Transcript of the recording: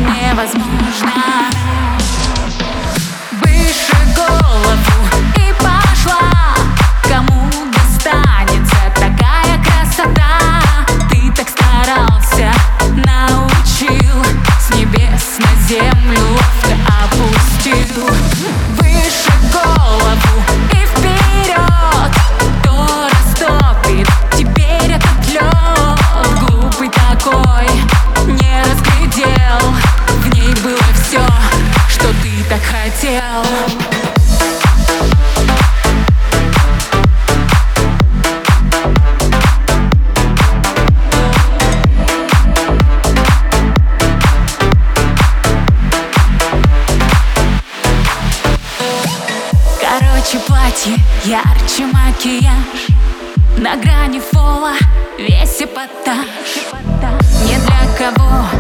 невозможно. Выше голову и пошла. Кому достанется такая красота? Ты так старался, научил, с небес на землю ловко опустил. Выше голову и вперед, кто растопит теперь этот лед? Глупый такой, не разглядел, в ней было все, что ты так хотел. Короче, платье, ярче макияж, на грани фола весь эпатаж. Не для кого